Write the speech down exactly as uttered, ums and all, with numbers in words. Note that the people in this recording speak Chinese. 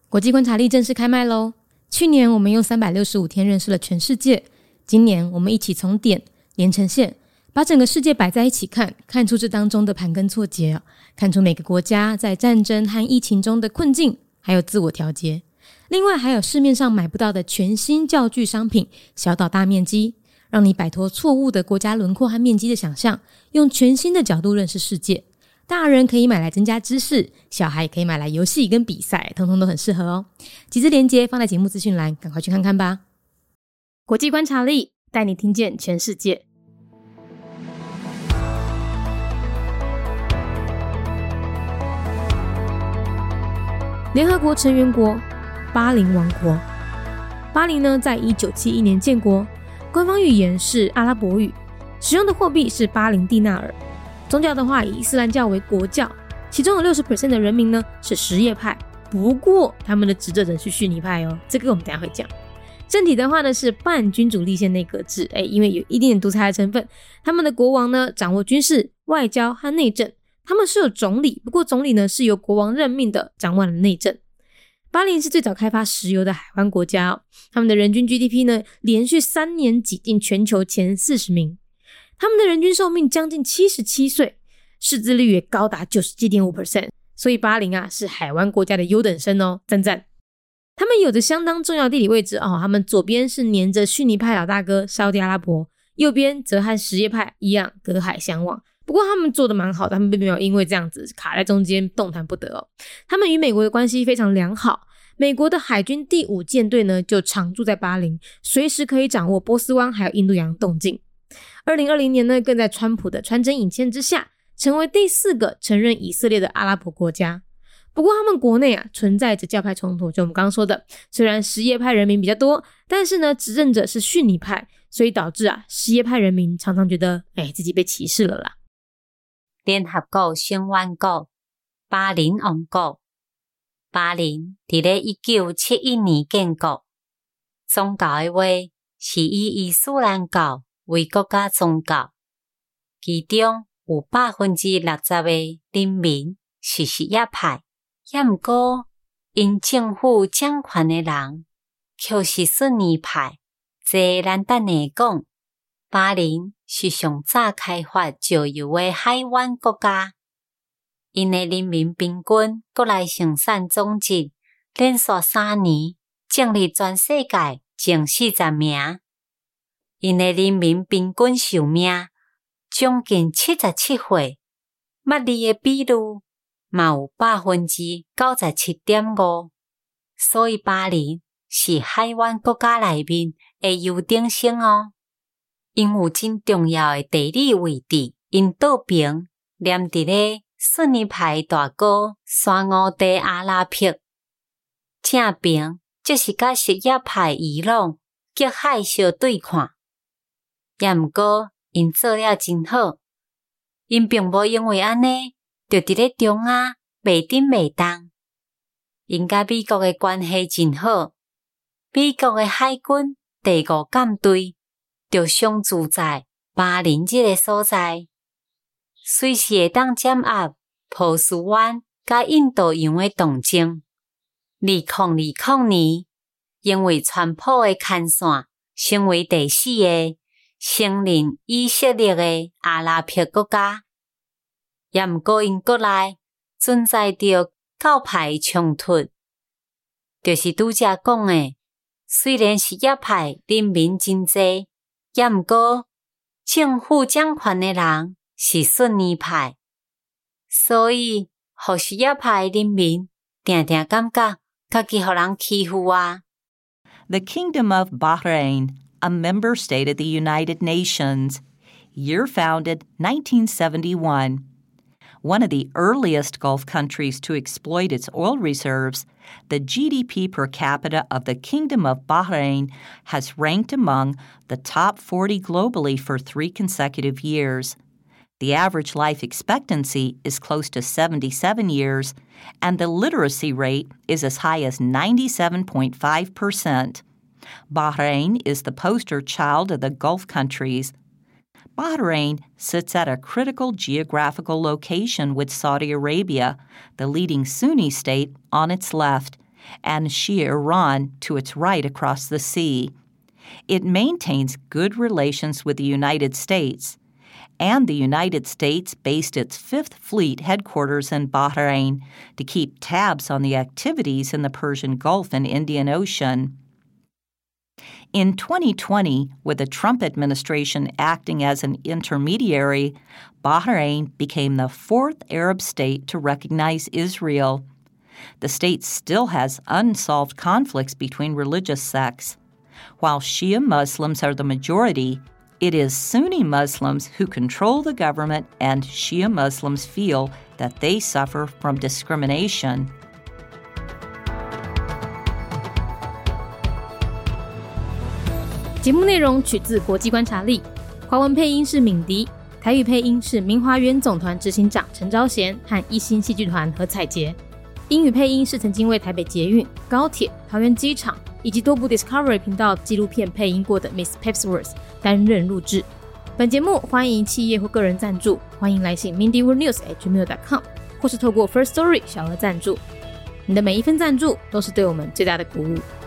国际观察力正式开麦咯。去年我们用三百六十五天认识了全世界，今年我们一起从点连成线，把整个世界摆在一起看，看出这当中的盘根错节，看出每个国家在战争和疫情中的困境，还有自我调节。另外还有市面上买不到的全新教具商品，小岛大面积，让你摆脱错误的国家轮廓和面积的想象，用全新的角度认识世界。大人可以买来增加知识，小孩也可以买来游戏跟比赛，通通都很适合哦。集资连结放在节目资讯栏，赶快去看看吧。国际观察力带你听见全世界。联合国成员国巴林王国。巴林呢，在一九七一年建国，官方语言是阿拉伯语，使用的货币是巴林蒂纳尔。宗教的话，以伊斯兰教为国教，其中有 百分之六十 的人民呢是什叶派，不过他们的执政者是逊尼派哦，这个我们等一下会讲。政体的话呢是半君主立宪内阁制，诶，因为有一定的独裁的成分，他们的国王呢掌握军事、外交和内政，他们是有总理，不过总理呢是由国王任命的，掌握了内政。巴林是最早开发石油的海湾国家哦，他们的人均 G D P 呢连续三年挤进全球前四十名。他们的人均寿命将近七十七岁，识字率也高达 百分之九十七点五， 所以巴林啊是海湾国家的优等生哦，赞赞。他们有着相当重要的地理位置哦，他们左边是黏着逊尼派老大哥沙烏地阿拉伯，右边则和什叶派一样隔海相望。不过他们做得蛮好的，他们并没有因为这样子卡在中间动弹不得哦。他们与美国的关系非常良好，美国的海军第五舰队呢就常驻在巴林，随时可以掌握波斯湾还有印度洋动静。二零二零年呢，更在川普的穿针引线之下，成为第四个承认以色列的阿拉伯国家。不过他们国内啊存在着教派冲突，就我们刚刚说的，虽然什叶派人民比较多，但是呢执政者是逊尼派，所以导致啊什叶派人民常常觉得哎自己被歧视了啦。 联合国成员国巴林王国。巴林伫咧一九七一年建国，宗教的话是以伊斯兰教为国家宗教，其中有 百分之六十 的人民是什叶派，也毋过因政府掌权的人却是逊尼派。这咱等下讲，巴林是上早开发石油的海湾国家，因的人民平均国内生产总值连续三年净入全世界前四十名。因的人民平均寿命将近七十七岁，捌字的比率嘛有 百分之九十七点五， 所以巴林是海湾国家内面的优等生哦。因有真重要的地理位置，因岛边连伫咧逊尼派大哥沙烏地阿拉伯，正边就是甲什叶派伊朗隔海相对看。也毋过因做了真好，因并无因为安尼就伫咧中亚袂顶袂动。因甲美国的关系真好，美国的海军第五舰队就常驻在巴林这个所在，随时会当掌握波斯湾甲印度洋的动静。二零二零年，因为川普的牵线，成为第四个承认以色列的阿拉伯国家。也毋过因国内存在着教派冲突，就是拄则讲的，虽然什叶派人民真济，也毋过政府掌权的人是逊尼派，所以互什叶派人民定定感觉家己互人欺负啊。 The Kingdom of Bahrain, a member state of the United Nations. Year founded nineteen seventy-one. One of the earliest Gulf countries to exploit its oil reserves, the G D P per capita of the Kingdom of Bahrain has ranked among the top forty globally for three consecutive years. The average life expectancy is close to seventy-seven years, and the literacy rate is as high as ninety-seven point five percent. Bahrain is the poster child of the Gulf countries. Bahrain sits at a critical geographical location with Saudi Arabia, the leading Sunni state, on its left, and Shia Iran to its right across the sea. It maintains good relations with the United States, and the United States based its Fifth Fleet headquarters in Bahrain to keep tabs on the activities in the Persian Gulf and Indian Ocean. In twenty twenty, with the Trump administration acting as an intermediary, Bahrain became the fourth Arab state to recognize Israel. The state still has unsolved conflicts between religious sects. While Shia Muslims are the majority, it is Sunni Muslims who control the government, and Shia Muslims feel that they suffer from discrimination. 节目内容取自国际观察力，华文配音是敏迪，台语配音是明华园总团执行长陈昭贤和一星戏剧团何彩杰，英语配音是曾经为台北捷运、高铁、桃园机场以及多部 Discovery 频道纪录片配音过的 Miss Pepsworth 担任录制。本节目欢迎企业或个人赞助，欢迎来信 mindy world news at gmail dot com 或是透过 First Story 小额赞助。你的每一份赞助都是对我们最大的鼓舞。